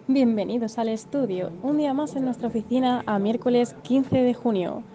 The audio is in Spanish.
Bienvenidos al estudio, un día más en nuestra oficina a miércoles 15 de junio.